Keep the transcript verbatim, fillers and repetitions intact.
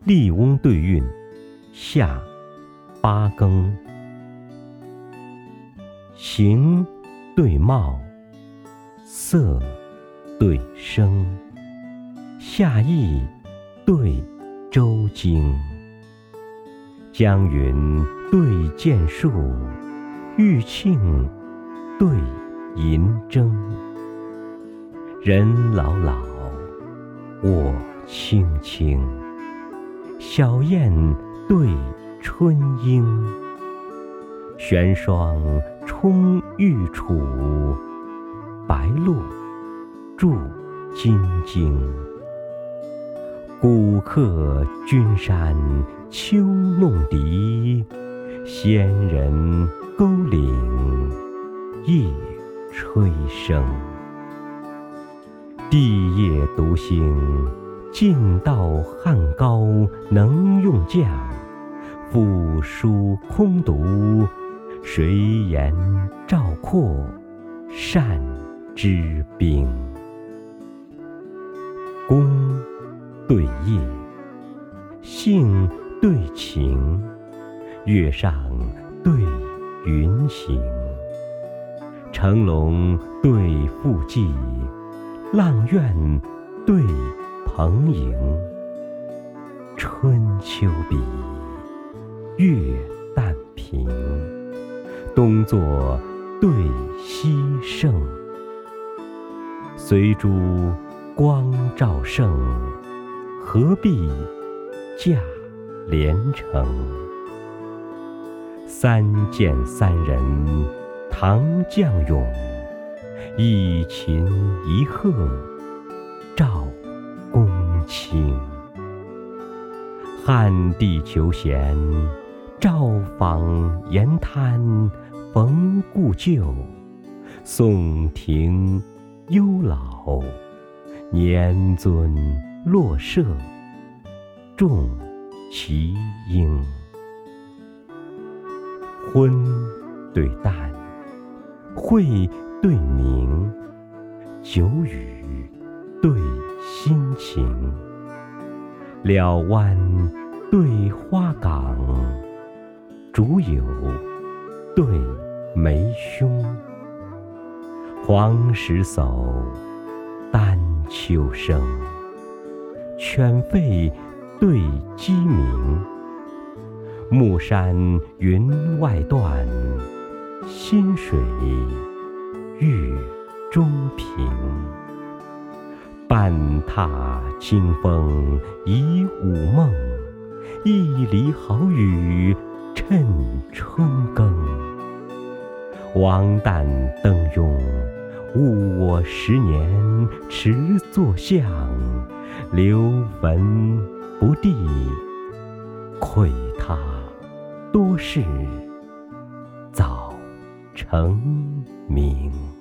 笠翁对韵下八更。形对貌，色对声，夏意对周经。江云对剑树，玉磬对银筝。人老老，我轻轻，小燕对春莺。玄霜冲玉杵，白露注金睛。古客君山秋弄笛，仙人沟岭夜吹笙。地业独行，尽道汉高能用匠。赋书空读，谁言赵括善之兵。宫对夜，性对情，月上对云行。乘龙对附骥，阆苑对蓬瀛。春秋比，月旦平，冬作对西盛。随珠光照盛，何必驾连城。三剑三人唐将勇，一禽一鹤赵公卿。汉地求贤，赵访言滩逢故旧。宋庭幽老，年尊洛舍众其英。昏对淡，晦对明，久雨对心情。了湾对花港，竹友对梅兄。黄石叟，丹丘生，犬吠对鸡鸣。暮山云外断，薪水月中平。半踏清风疑午梦，一犁好雨趁春耕。王旦登庸，误我十年迟作相。留坟不第，愧他多事早成名。